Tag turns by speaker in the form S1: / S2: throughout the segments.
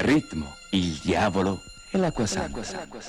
S1: ritmo, il diavolo e l'acqua santa.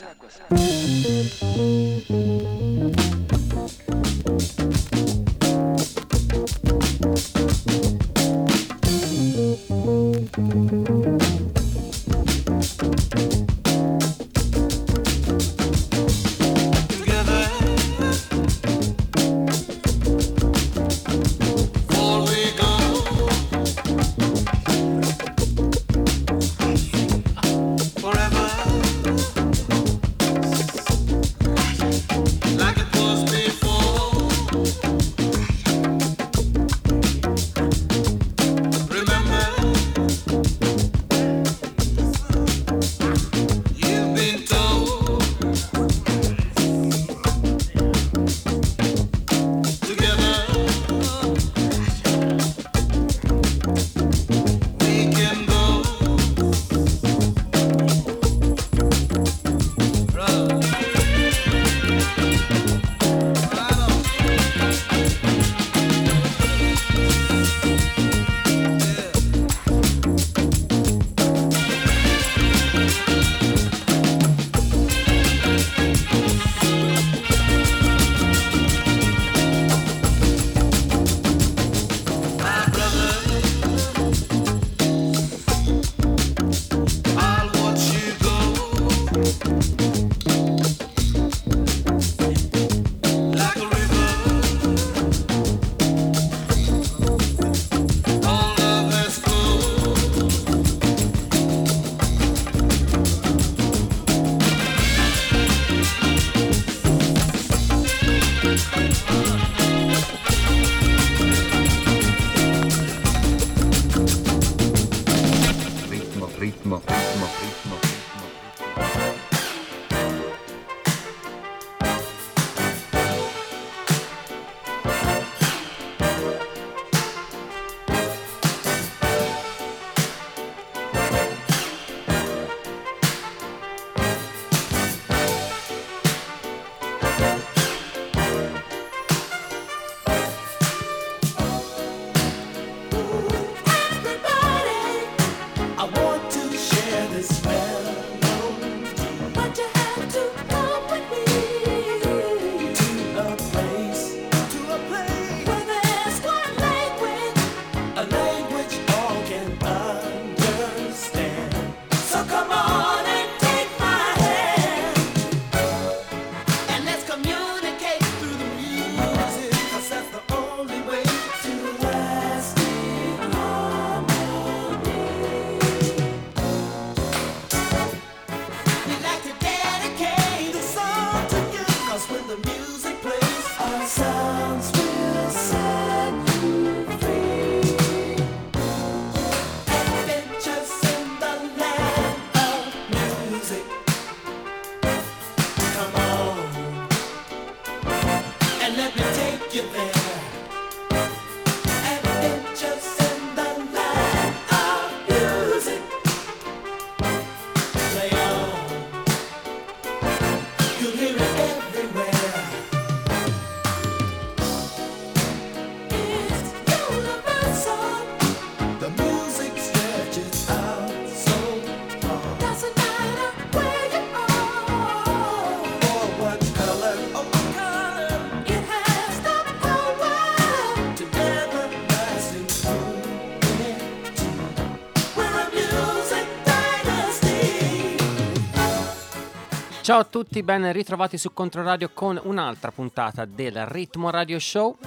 S2: Ciao a tutti, ben ritrovati su Controradio con un'altra puntata del Ritmo Radio Show.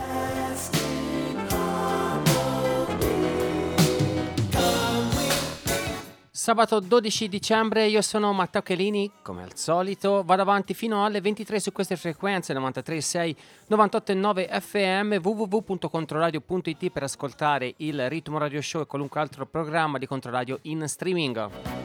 S2: Sabato 12 dicembre, io sono Matteo Chelini, come al solito, vado avanti fino alle 23 su queste frequenze 93.6, 98.9 FM, www.controradio.it per ascoltare il Ritmo Radio Show e qualunque altro programma di Controradio in streaming.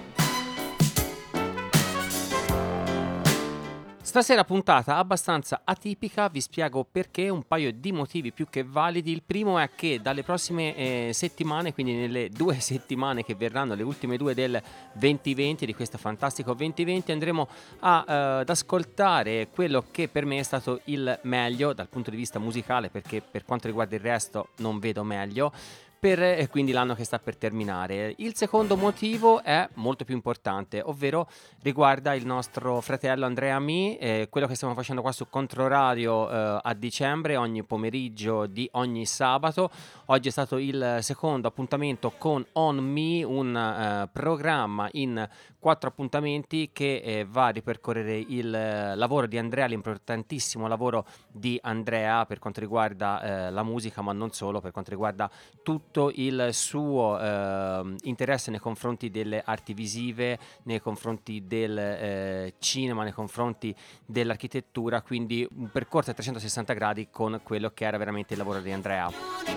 S2: Stasera puntata abbastanza atipica, vi spiego perché, un paio di motivi più che validi. Il primo è che dalle prossime settimane, quindi nelle 2 settimane che verranno, le ultime 2 del 2020, di questo fantastico 2020, andremo ad ascoltare quello che per me è stato il meglio dal punto di vista musicale, perché per quanto riguarda il resto non vedo meglio. per quindi l'anno che sta per terminare. Il secondo motivo è molto più importante, ovvero riguarda il nostro fratello Andrea Mi, quello che stiamo facendo qua su Controradio a dicembre, ogni pomeriggio di ogni sabato. Oggi è stato il secondo appuntamento con On Me, un programma in 4 appuntamenti che va a ripercorrere il lavoro di Andrea, l'importantissimo lavoro di Andrea per quanto riguarda la musica, ma non solo, per quanto riguarda tutto il suo interesse nei confronti delle arti visive, nei confronti del cinema, nei confronti dell'architettura, quindi un percorso a 360 gradi con quello che era veramente il lavoro di Andrea.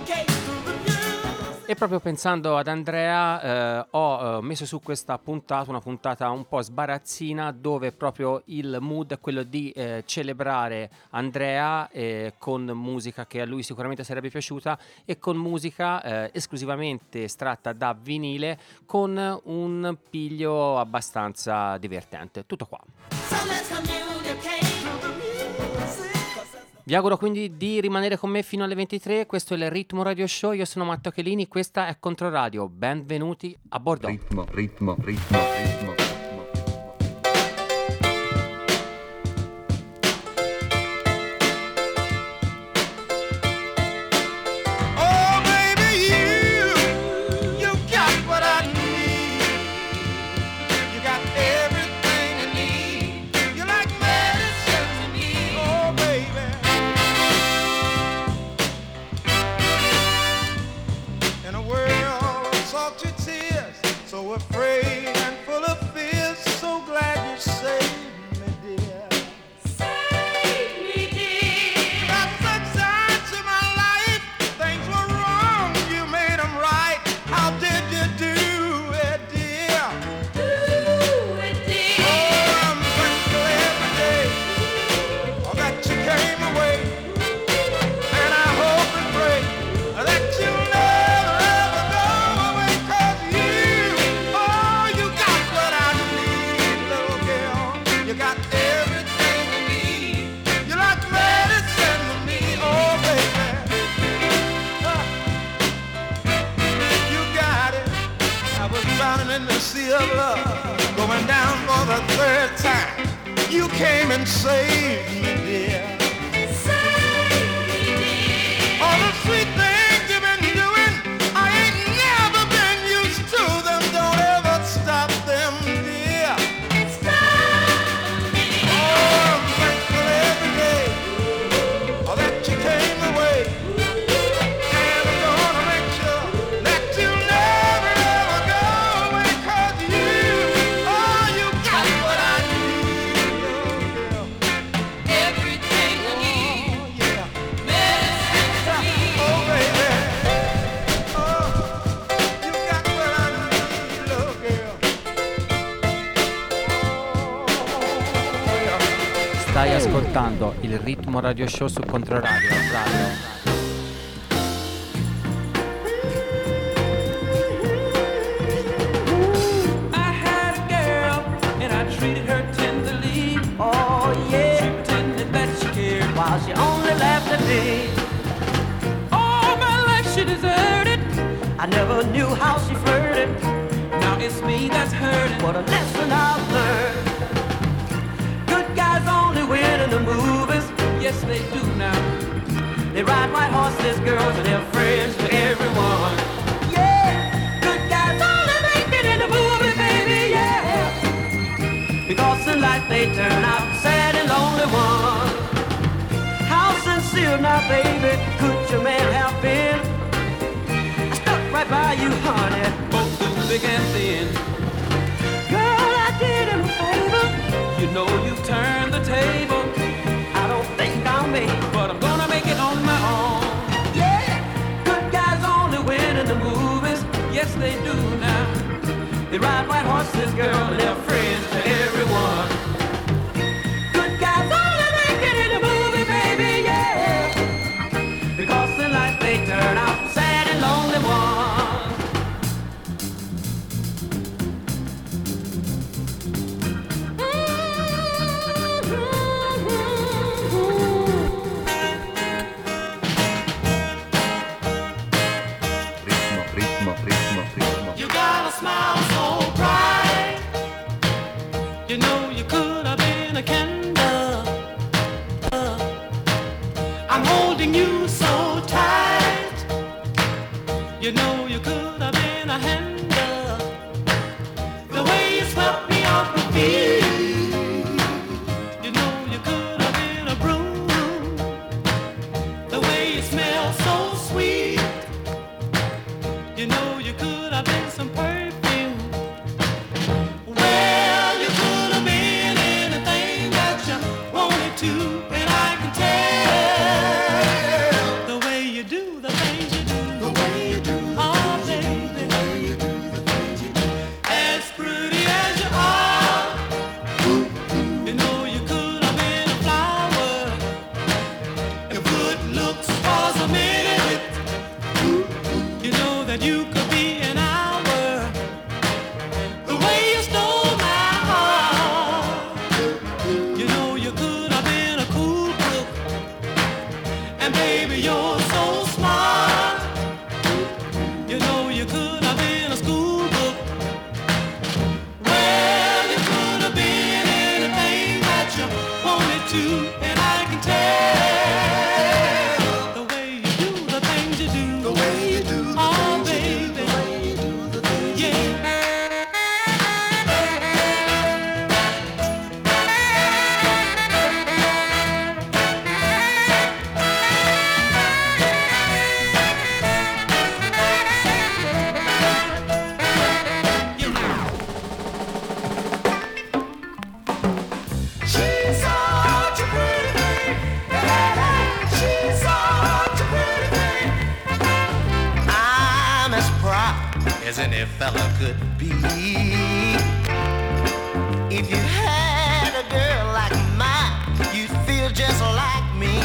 S2: E proprio pensando ad Andrea ho messo su questa puntata, una puntata un po' sbarazzina, dove proprio il mood è quello di celebrare Andrea con musica che a lui sicuramente sarebbe piaciuta e con musica esclusivamente estratta da vinile, con un piglio abbastanza divertente. Tutto qua. Vi auguro quindi di rimanere con me fino alle 23, questo è il Ritmo Radio Show, io sono Matteo Chelini, questa è Controradio, benvenuti a bordo.
S3: Ritmo.
S4: Oh baby, you got what I need. You got everything I need. You're like medicine to me. Oh baby. In a world of salty tears, so afraid and full of fears, so glad you saved me, dear. You got such sides to my life. Things were wrong, you made them right. How did you do it, dear? Oh, I'm thankful every day that you came away. And I hope and pray that you'll never ever go away. 'Cause you got what I need, little girl. You got everything I need. You're like medicine to me, oh baby. You got it. I was drowning in the sea of love, going down for the 3rd time. You came and saved me, dear. All the sweet things you've been doing, I ain't never been used to them. Don't ever stop them, dear. Oh, I'm thankful every day that you came away. And I'm gonna make sure that you never ever go away. 'Cause you got what I need, little girl.
S5: Everything I need,
S4: Oh, yeah.
S5: medicine to me.
S4: Oh, baby. Oh, you got what I need, little girl. Oh, yeah.
S2: Stai ascoltando il Ritmo Radio Show su Controradio. Radio.
S5: I had a girl and I treated her tenderly. Oh yeah, she pretended that she cared while she only laughed at me. All my life she deserted. I never knew how she flirted. Now it's me that's hurting. What a lesson I've learned. Good guys only win in the movies. Yes, they do now. They ride white horses, girls, and they're friends to everyone. Yeah, good guys only make it in the movie, baby, yeah. Because in life they turn out sad and lonely ones. How sincere now, baby, could your man have been? I stuck right by you, honey, both through thick and thin. Girl, I did him a favor. You know you turned the table. I don't think I'll make it, but I'm gonna make it on my own. Yeah, good guys only win in the movies. Yes, they do now. They ride white horses, girl, and they're friends to everyone. Good guys only make it in the movie, baby, yeah. Because in life they turn out sad and lonely ones.
S3: Ritmo.
S4: as any fella could be. If you had a girl like mine, you'd feel just like me.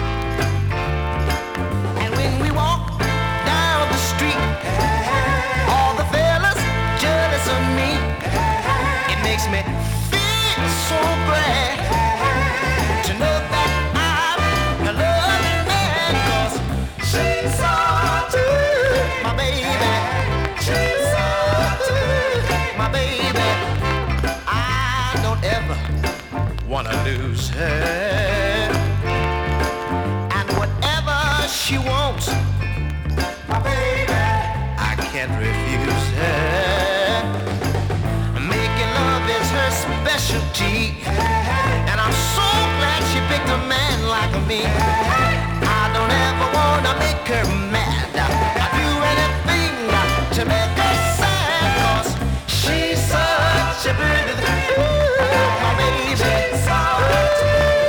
S4: And when we walk down the street, all the fellas jealous of me. It makes me feel so glad to know that I'm a loving man, 'cause she's so good, my baby. She's so good, my baby. I don't ever wanna lose her. And whatever she wants, my baby, I can't refuse her. Making love is her specialty, and I'm so glad she picked a man like me. I don't ever wanna make her mad. I'd do anything to make her sad, 'cause she's such a beautiful, my baby. She's such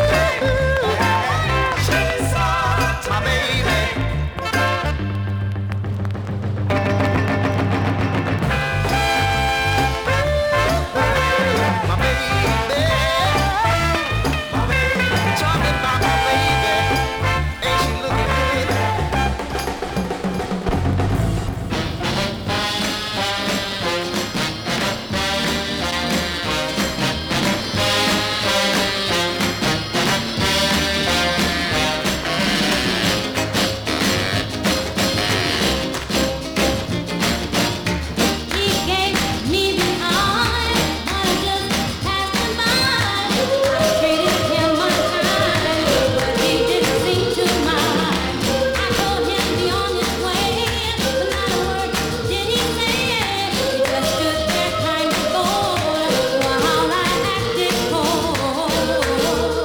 S4: my baby. My baby, my baby, talking about my baby, ain't she looking good?
S3: He gave me the eye, I just passed him by. I treated him unkind, but he didn't seem to mind. I told him be on his way, but not a word did he say. He just stood there kind of bored, while I acted cold.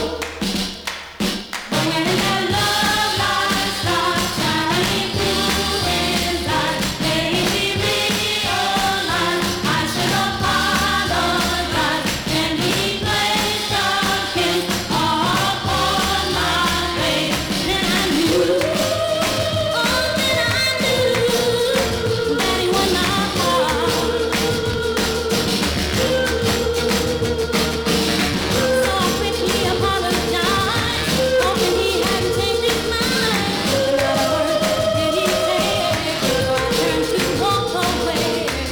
S3: But when that love light starts shining through his eyes, made me realize I should apologize. Then he placed a kiss upon my face. Then I knew, oh, then I knew that he won my heart. So I quickly apologized, hoping he hadn't changed his mind. But not a word did he say, so I turned to walk away.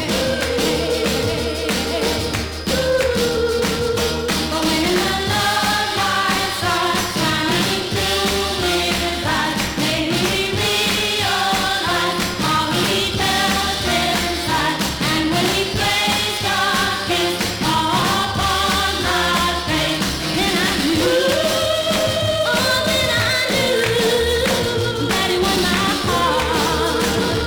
S3: But when the love light starts shining through his eyes, made me realize all he felt inside. And when he placed a kiss upon my face, then I knew, oh, then I knew that he won my heart.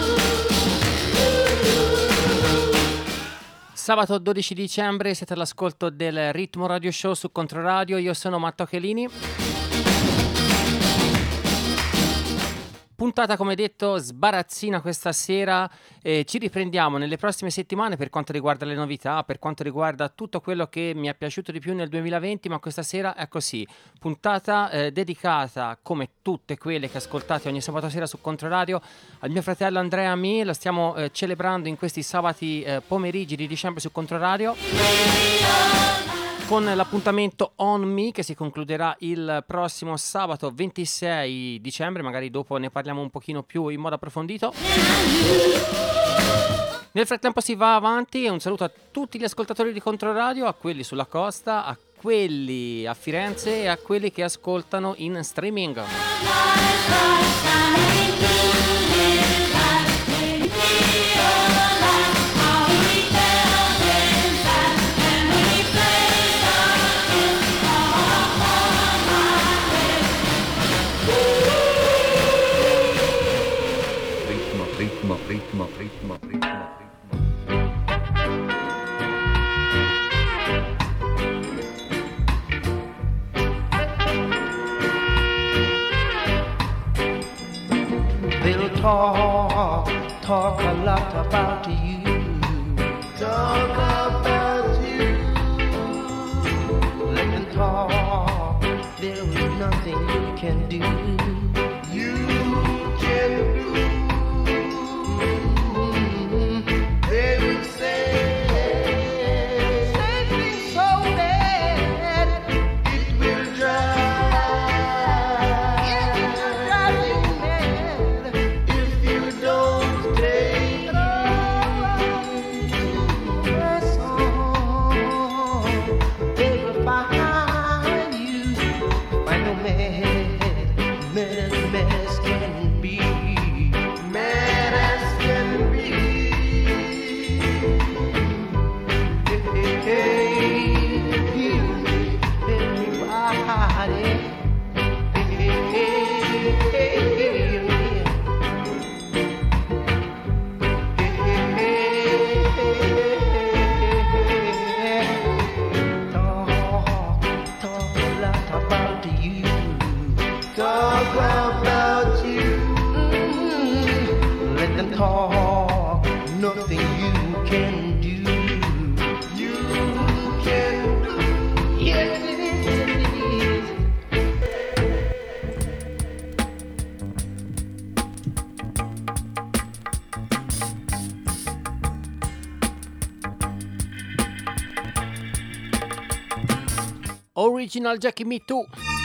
S2: Sabato 12 dicembre siete all'ascolto del Ritmo Radio Show su Controradio. Io sono Matto Chelini. Puntata, come detto, sbarazzina questa sera. Ci riprendiamo nelle prossime settimane per quanto riguarda le novità, per quanto riguarda tutto quello che mi è piaciuto di più nel 2020, ma questa sera è così. Puntata dedicata, come tutte quelle che ascoltate ogni sabato sera su Controradio, al mio fratello Andrea Mi. Lo stiamo celebrando in questi sabati pomeriggi di dicembre su Controradio, con l'appuntamento On Me che si concluderà il prossimo sabato 26 dicembre, magari dopo ne parliamo un pochino più in modo approfondito. Nel frattempo si va avanti e un saluto a tutti gli ascoltatori di Controradio, a quelli sulla costa, a quelli a Firenze e a quelli che ascoltano in streaming.
S6: They'll talk a lot about you. Talk about you. Let them talk. There is nothing you can do. You can do. talk, nothing you can do. You can do. Yes, it is.
S2: Original Jackie Me Too.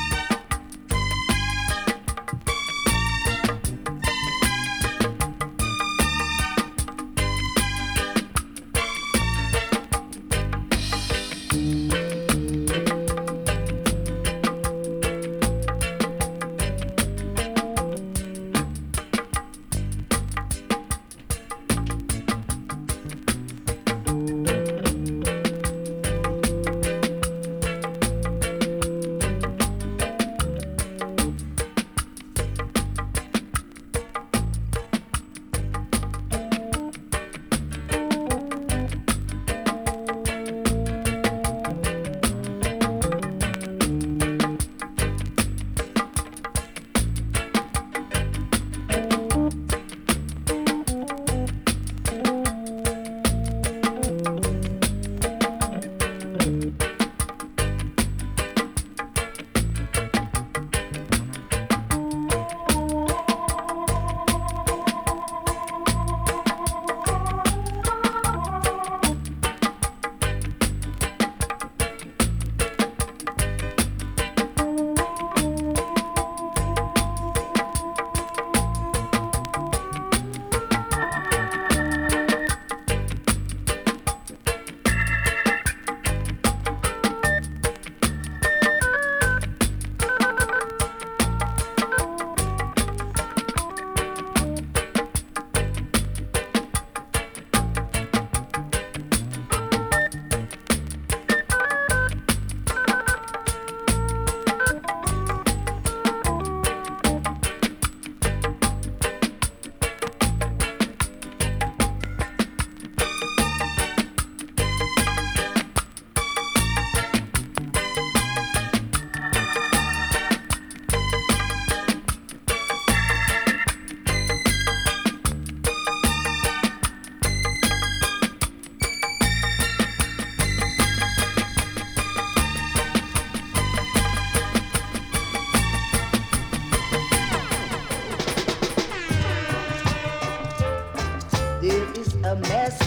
S6: There is a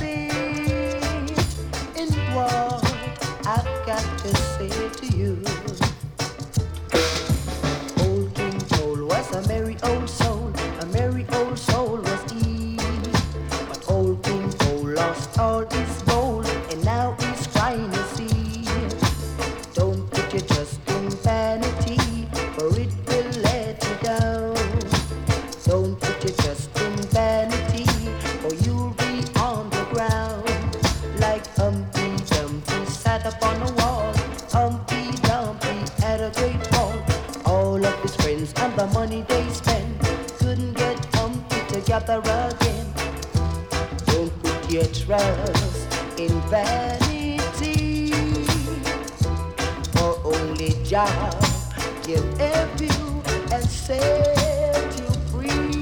S6: message in what I've got to say to you. Old King Cole was a merry old soul, a merry old soul was he. But old King Cole lost all his gold, and now he's crying to see. Don't put your trust in vanity, for it will let you down. Don't put your trust in vanity, or you'll be on the ground. Like Humpty Dumpty sat upon a wall, Humpty Dumpty had a great fall. All of his friends and the money they spent couldn't get Humpty together again. Don't put your trust in vanity, for only Jah can help you and set you free.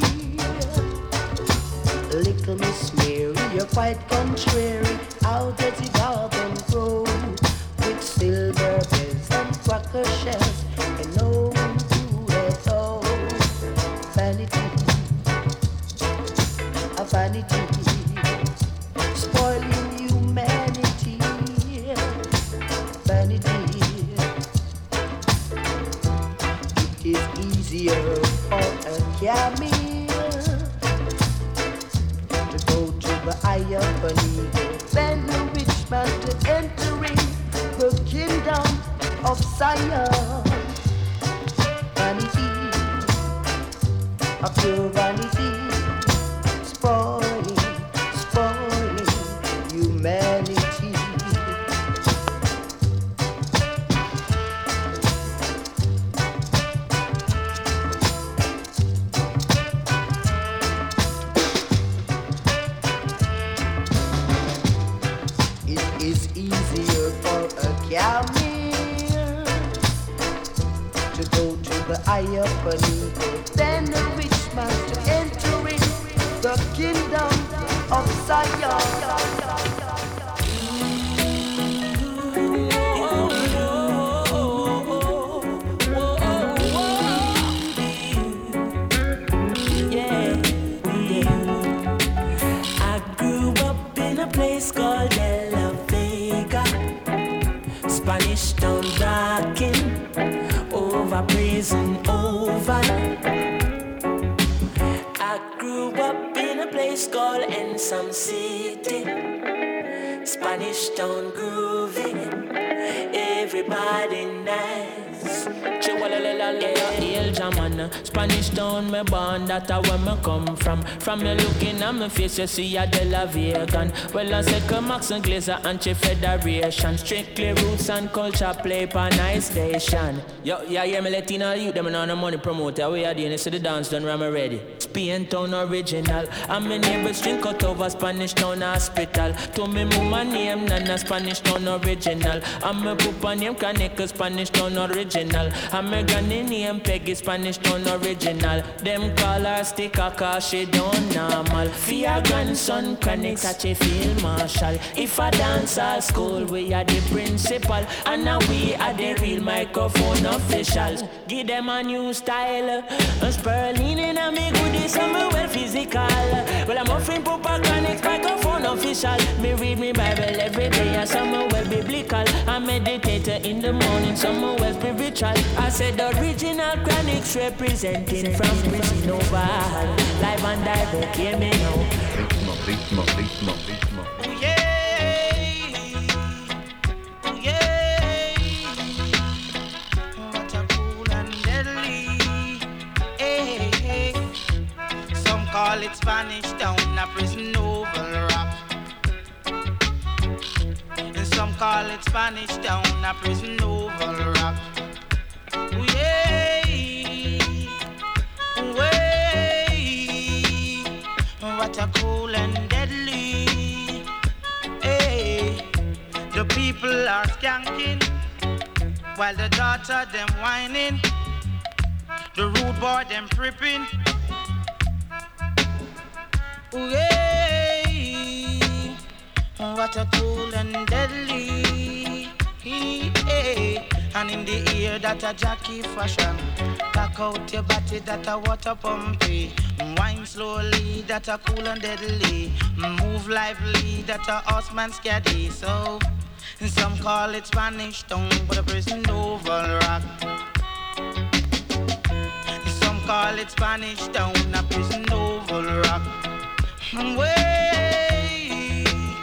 S6: Little Miss Mary, you're quite contrary. How does it garden grow with silver bells and cracker shells and no food at all? Vanity, a vanity, spoiling humanity. Vanity, it is easier for a camel to go to the eye of an eagle than a rich man to entering the kingdom of Zion. Vanity, a pure vanity, spoiling, spoiling humanity. It is easier for a camel to go to the eye of an eagle than a rich man to entering the the kingdom of Zion.
S5: I grew up in a place called De La Vega, Spanish Town rocking, over prison over. I grew up in a place called Ensom City, Spanish Town groovy, everybody nice. Hail German, Spanish Town me born, that's where me come from. From me looking at my face, you see a De La Vegan. Well, I say come Max and Glazer Anti-Federation. Strictly roots and culture play per nice station. Yo, yeah, yeah, me Latino youth, them on the money promoter. We are doing this to the dance done, I'm ready. Spain Town original. And my neighbors drink out over Spanish Town hospital. To me mama name Nana Spanish Town original. And my papa name Kaneka Spanish Town original. And my granny name Peggy Spanish Town original. Them call her sticker cause she don't normal. For your grandson Kaneka such a field marshal. If I dance at school we are the principal. And now we are the real microphone officials. Give them a new style. A Sperling in a me goodies and me well physical. Well I'm offering Papa Kaneka microphone official. Me read me Bible every day and some well biblical. I meditate in the morning, some well spiritual. I said the original Chronics representing from prison over. Live and direct, hear me now.
S1: Ritmo, ritmo, ritmo.
S4: Ooh, yeah. Ooh, yeah. What a cool and deadly. Hey, hey. Some call it Spanish Town, a prison oval rap. And some call it Spanish Town, a prison oval rap. Ooh, yeah. Ooh, yeah. What a cool and deadly. Hey, the people are skanking while the daughter them whining. The rude boy them tripping. Ooh, yeah. What a cool and deadly. Hey. And in the ear that a Jackie fashion. Back out your body that a water pumpy. Wine slowly that a cool and deadly. Move lively that a horseman scary. So some call it Spanish Town, but a prison oval rock. Some call it Spanish Town, a prison oval rock. Way,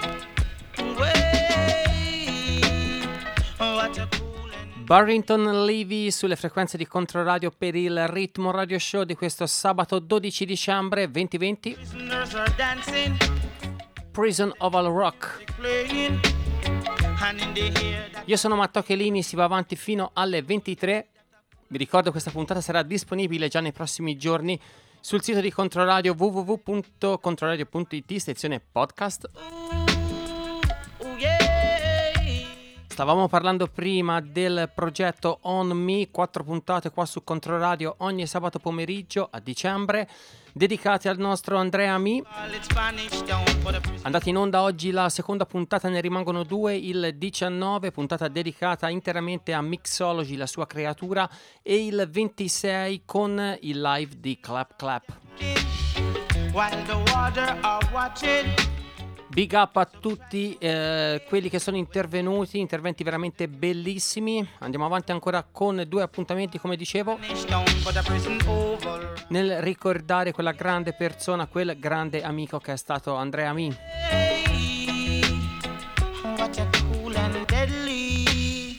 S4: what a cool and
S2: Barrington Levy sulle frequenze di Controradio per il Ritmo Radio Show di questo sabato 12 dicembre 2020.
S4: prisoners are dancing,
S2: Prison Oval Rock.
S4: playing, and in the air that
S2: Io sono Matteo Chelini, si va avanti fino alle 23. Vi ricordo che questa puntata sarà disponibile già nei prossimi giorni sul sito di Controradio www.controradio.it, sezione podcast.
S4: ooh, yeah.
S2: Stavamo parlando prima del progetto On Me, 4 puntate qua su Controradio ogni sabato pomeriggio a dicembre, dedicate al nostro Andrea Mi.
S4: Call it Spanish Town, but a prison
S2: Andata in onda oggi la seconda puntata, ne rimangono 2, il 19, puntata dedicata interamente a Mixology, la sua creatura, e il 26 con il live di Clap Clap.
S4: while the water are watching.
S2: Big up a tutti quelli che sono intervenuti, interventi veramente bellissimi. Andiamo avanti ancora con 2 appuntamenti, come dicevo,
S4: Spanish Town, but a prison oval.
S2: nel ricordare quella grande persona, quel grande amico che è stato Andrea Mi.
S4: Hey, what a cool and deadly.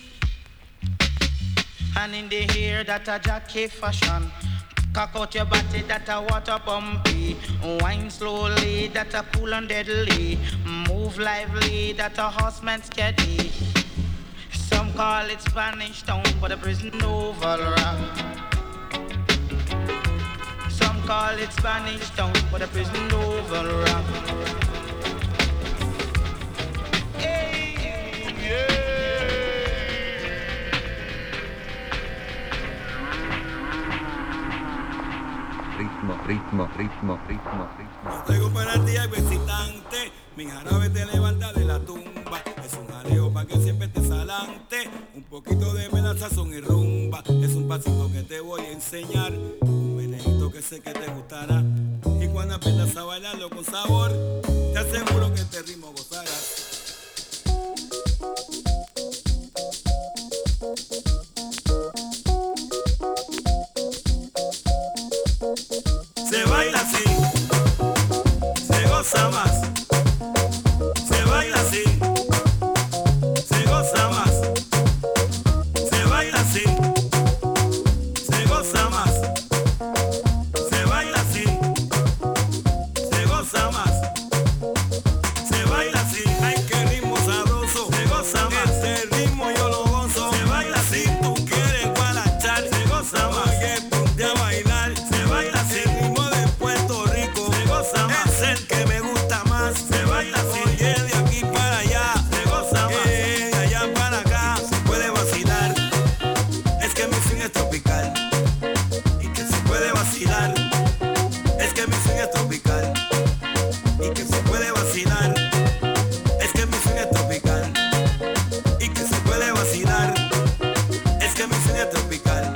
S4: And in the hair that a Jackie fashion. Cock out your body that a water pumpy. Wine slowly that a cool and deadly. Move lively that a horseman steady. Some call it Spanish Town, but a prison oval rock. Some call it Spanish Town, but a prison oval rock. Hey, yeah.
S1: Ritmo, ritmo, ritmo, ritmo, ritmo.
S4: Traigo para ti algo excitante, mi jarabe te levanta de la tumba. Es un jaleo pa' que siempre estés adelante, un poquito de sazón y rumba. Es un pasito que te voy a enseñar, un menejito que sé que te gustará. Y cuando aprendas a bailarlo con sabor, te aseguro que este ritmo gozarás. Se baila así, se goza más. Se baila así, se goza más. Se baila así, se goza más. Se baila así, se goza más. Se baila así, ay qué ritmo sabroso. Se goza más, este ritmo yo lo gozo. Se baila así, tú quieres guarachar. Se goza más, oye, ponte a bailar. Se baila así, el ritmo de Puerto Rico. Se goza más, es el que me gusta más. Se baila así, oye, de aquí para allá. Se goza más, de allá para acá. Se puede vacilar, es que mi swing es tropical. Y que se puede vacilar, es que mi swing es tropical. Y que se puede vacilar, es que mi swing es tropical. Y que se puede vacilar, es que mi swing es tropical.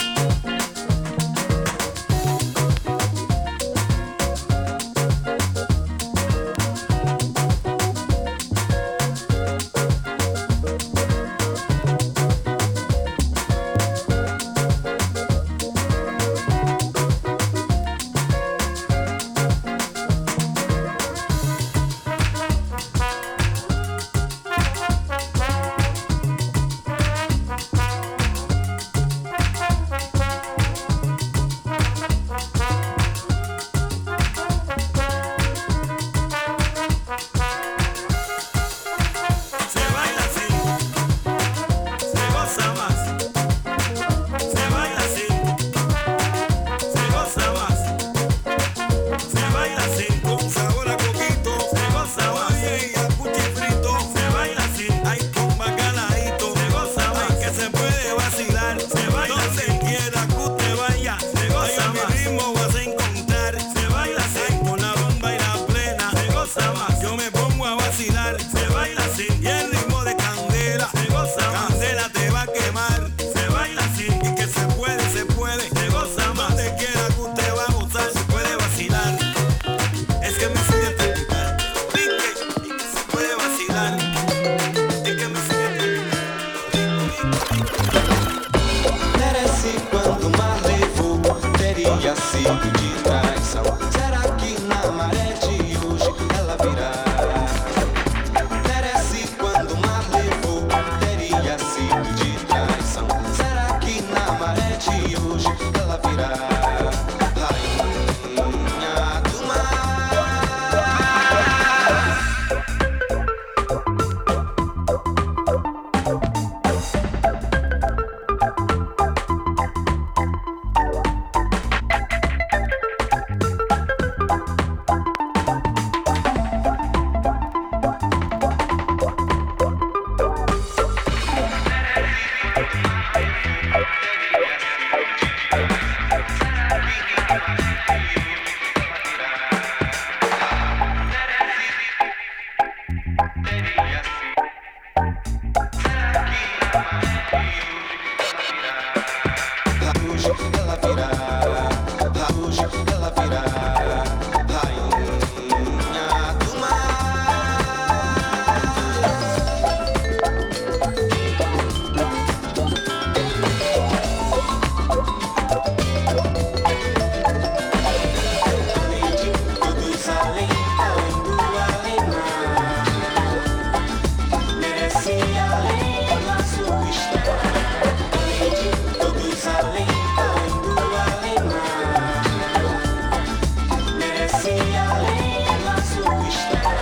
S4: Se baila así, se goza más. Se baila así, se goza más. Se baila así, con sabor a coquito. Se goza más, oye, y a cuchifrito. Se baila así, ay, con bacalaíto. Se goza más, que se puede vacilar. Se baila así, donde quiera que usted vaya. Se goza más, mi ritmo vas a encontrar. Se baila así, con la rumba y la plena. Se goza más, yo me pongo a vacilar. Se baila así, y el ritmo de candela. Se goza más, candela te va a quemar. Se baila así, y que se puede, se puede. Se goza más, donde quiera que usted va a gozar. Se puede vacilar, es que me sigue tropical. Y que se puede vacilar, es que me sigue
S7: Merece quanto mais levou, teria sido de traição. Será que na maré de hoje ela virá? Merece quando mais levou, teria sido de traição. Será que na maré de hoje ela virá? Rainha do mar. Hoje ela virá, hoje ela virá, rainha do mar. Todos além, além do além-mar, merece além da sua estrada. Todos além, além do além-mar, merece além da sua estrada.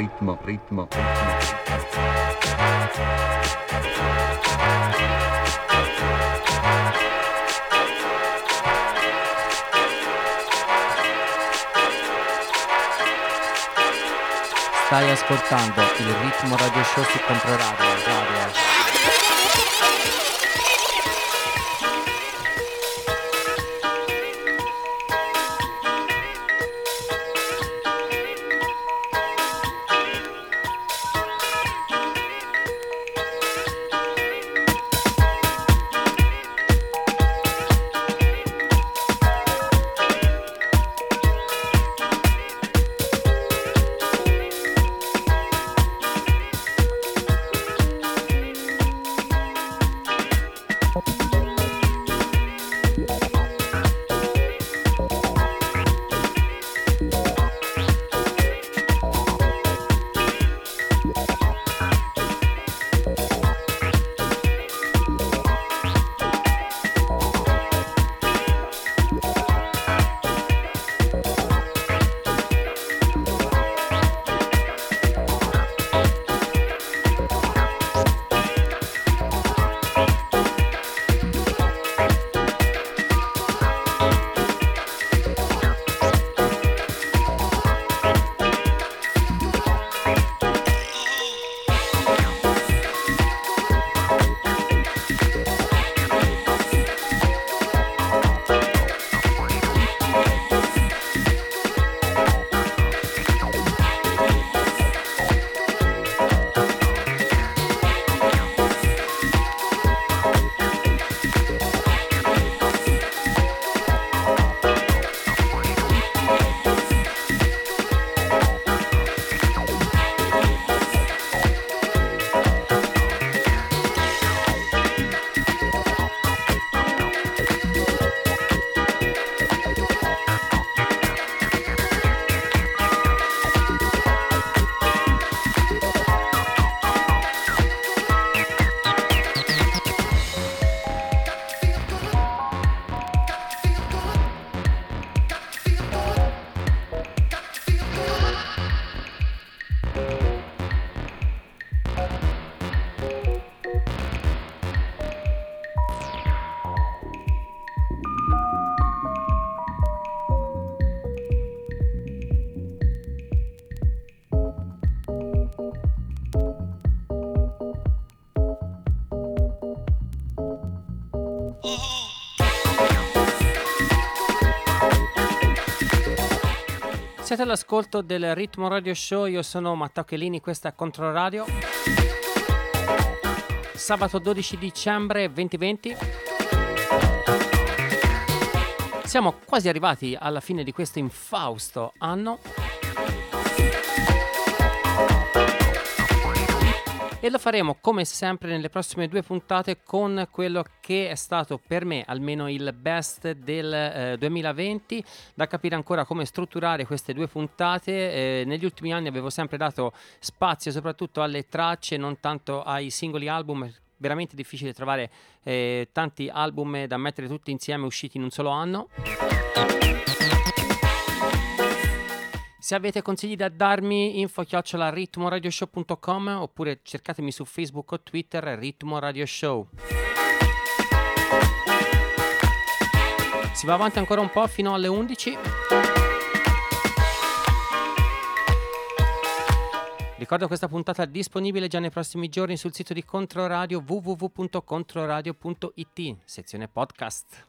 S1: ritmo, ritmo.
S2: Stai ascoltando il Ritmo Radio Show su Controradio. Siete all'ascolto del Ritmo Radio Show, io sono Matteo Chelini, questa è Controradio. Sabato 12 dicembre 2020. Siamo quasi arrivati alla fine di questo infausto anno. E lo faremo come sempre nelle prossime due puntate con quello che è stato per me almeno il best del 2020, da capire ancora come strutturare queste due puntate. Negli ultimi anni avevo sempre dato spazio soprattutto alle tracce, non tanto ai singoli album. È veramente difficile trovare tanti album da mettere tutti insieme usciti in un solo anno. Se avete consigli da darmi, info@ritmoradioshow.com oppure cercatemi su Facebook o Twitter, Ritmo Radio Show. Si va avanti ancora un po' fino alle 11. Ricordo questa puntata disponibile già nei prossimi giorni sul sito di Controradio, www.controradio.it, sezione podcast.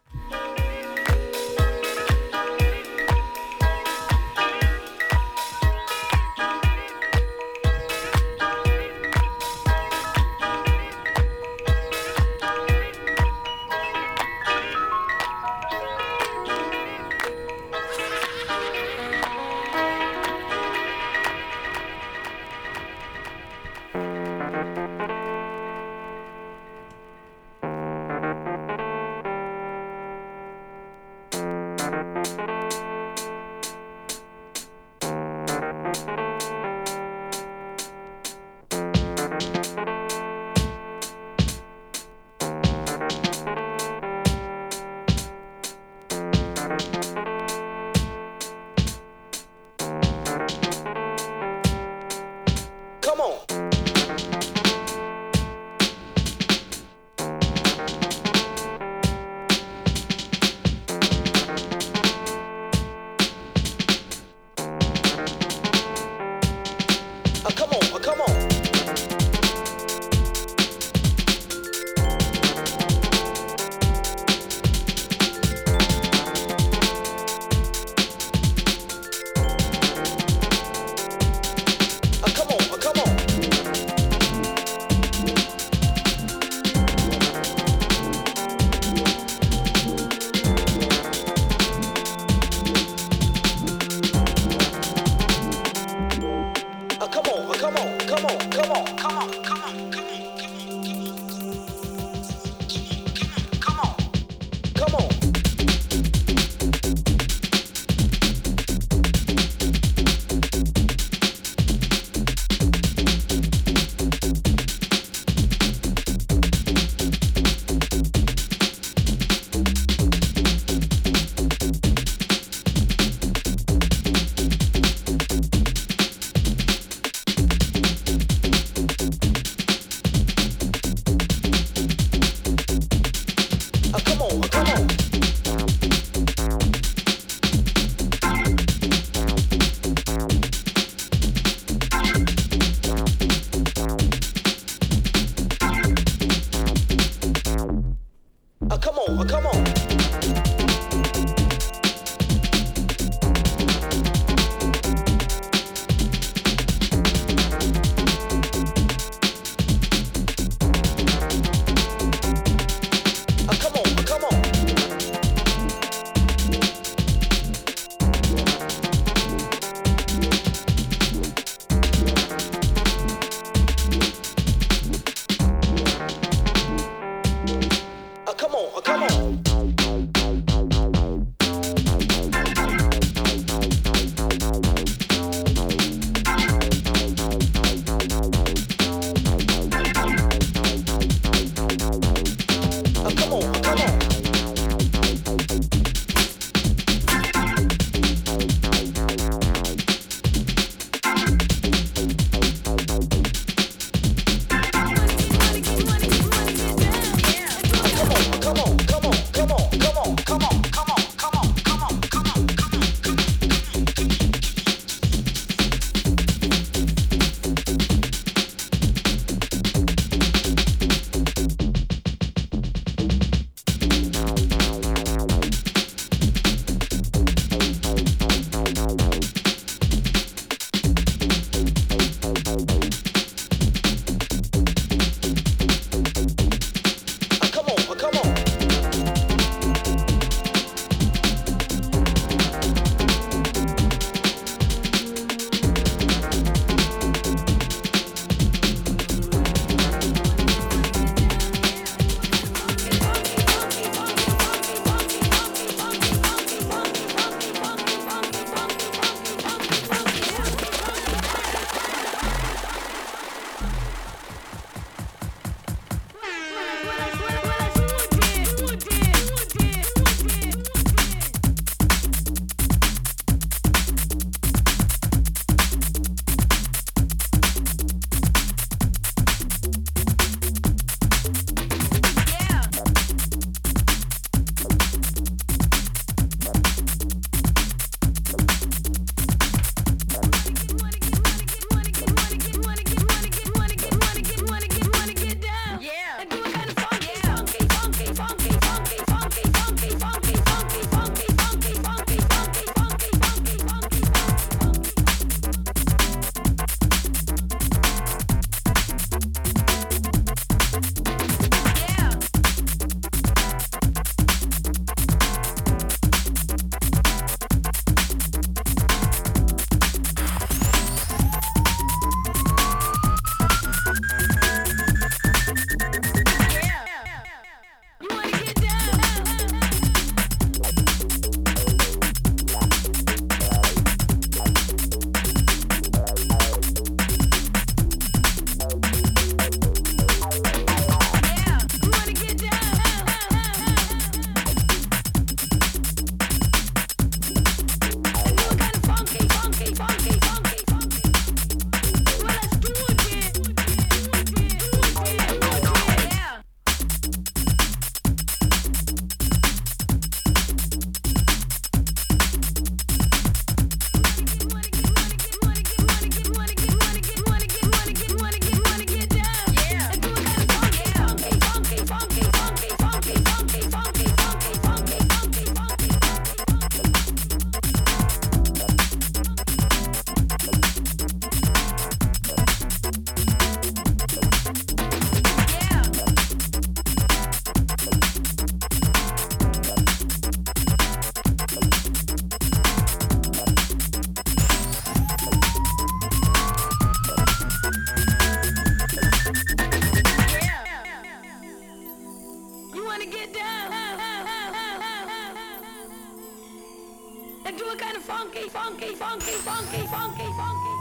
S3: funky, funky, funky.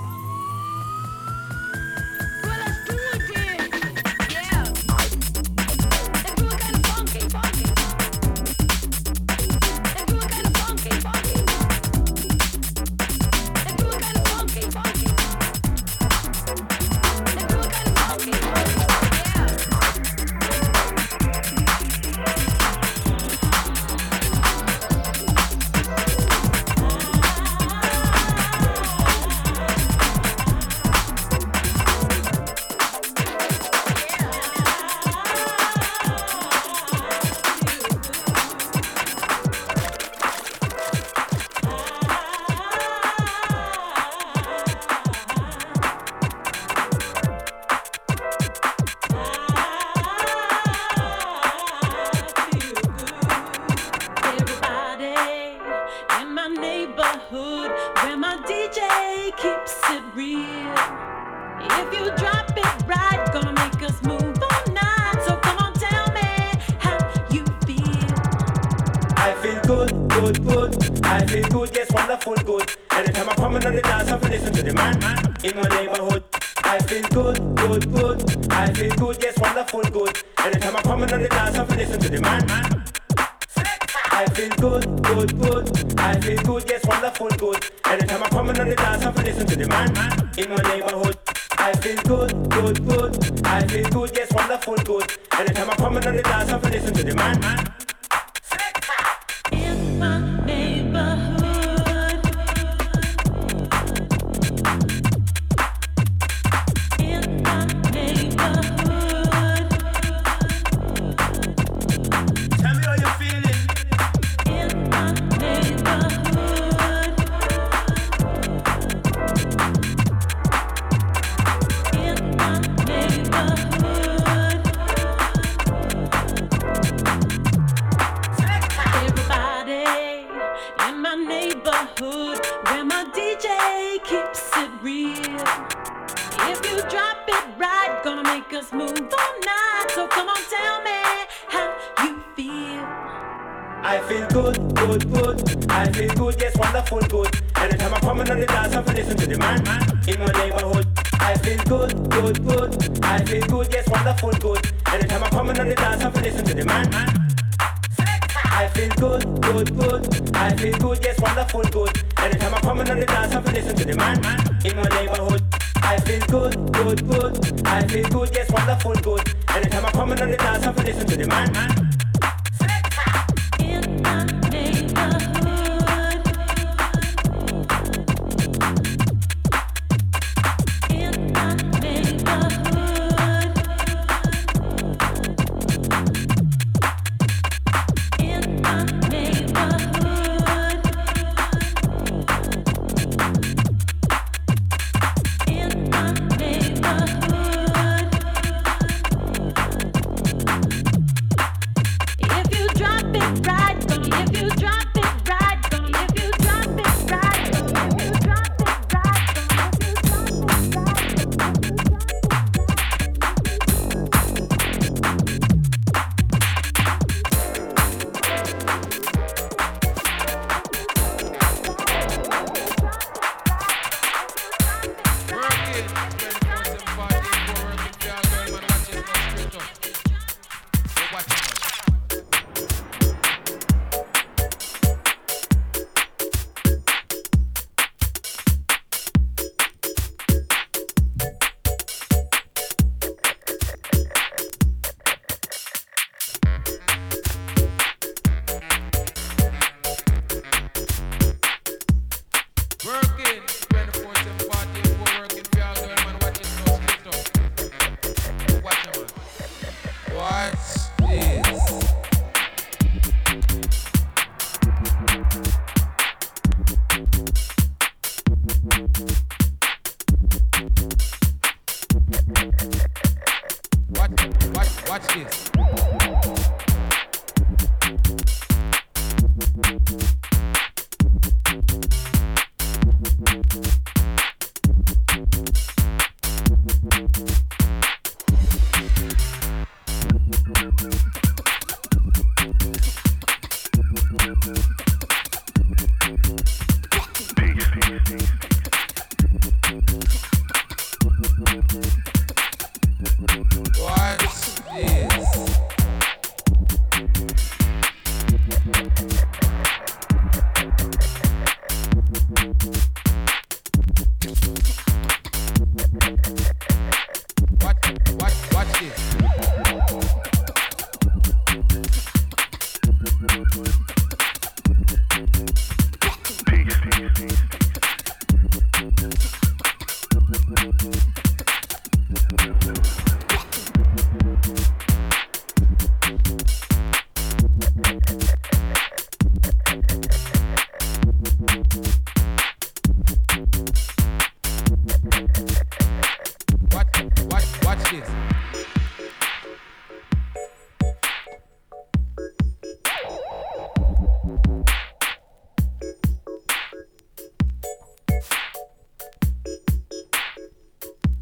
S3: Well, let's do it then. Yeah. Let's do it kind of funky, funky. Let's do it kind of funky, funky. Let's do it kind of funky, funky. Let's do it kind of funky, funky.
S5: Everybody in my neighborhood where my DJ keeps it real. If you drop it right, gonna make us move all night. So come on, tell me how you feel.
S8: I feel good, good, good. I feel good, yes, wonderful, good. Anytime I come in on the dance, I listen to the man in my neighborhood. I feel good, good, good. I feel good, yes, wonderful, good. Anytime I come in on the dance, I listen to the man. I feel good, good, good. I feel good, yes, wonderful, good. Anytime I come in on the dance, I listen to the man in my neighborhood. I feel good, good, good. I feel good, yes, wonderful, good. Anytime I come in on the dance, I listen to the man.
S5: In my neighborhood. In my neighborhood.
S8: Tell me how you're feeling.
S5: In my neighborhood. In my neighborhood. Everybody in my neighborhood where my DJ keeps it real. If you drop it right, gonna make us move all night. So come on, tell me how you feel.
S8: I feel good, good, good. I feel good, yes, wonderful, good. Anytime I come in on the dance, I listen to the man in my neighborhood. I feel good, good, good. I feel good, yes, wonderful, good. Anytime I come in on the dance, I listen to the man. I feel good, good, good. I feel good, yes, wonderful, good. Anytime I come in on the dance, I listen to the man in my neighborhood. I feel good, good, good. I feel good, yes, wonderful, good. Anytime I come in on the dance, I listen to the man.
S5: In my neighborhood. In my neighborhood. In my neighborhood. In my neighborhood. If you drop it right, if you drop it right, if you drop it right, if you drop it right,
S9: Working 24/7 party, we're working for all the man watching us split up. Watch out, man. Watch this. Watch this.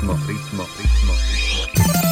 S1: ritmo, ritmo, ritmo, ritmo.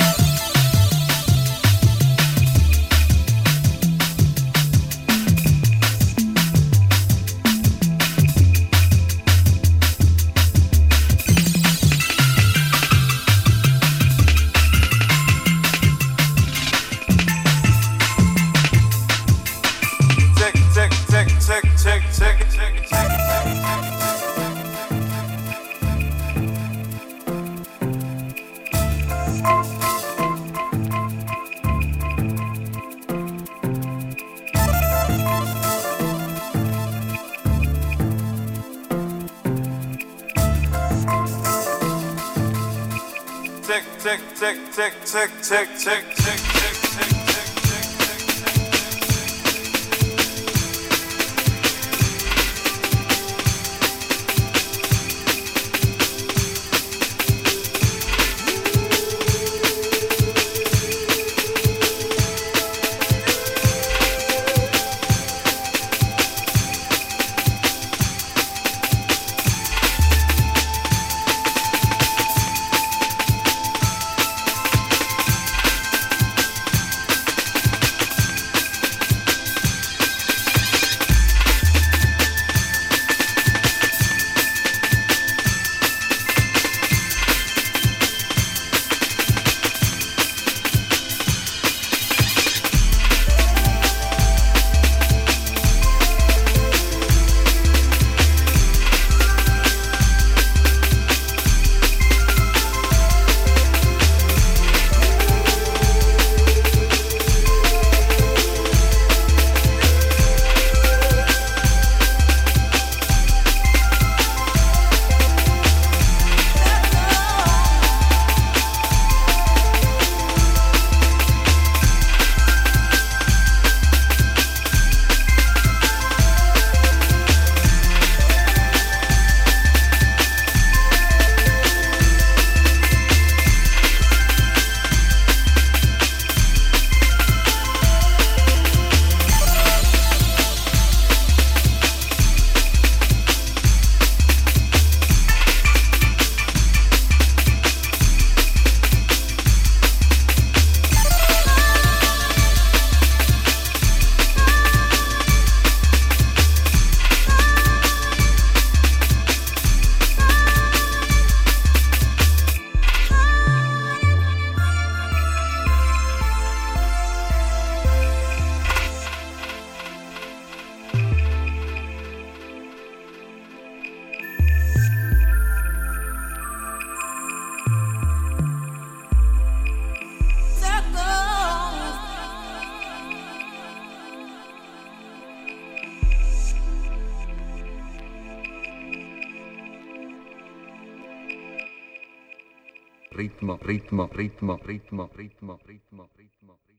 S1: Ritmo, ritmo, ritmo, ritmo, ritmo, ritmo, ritmo.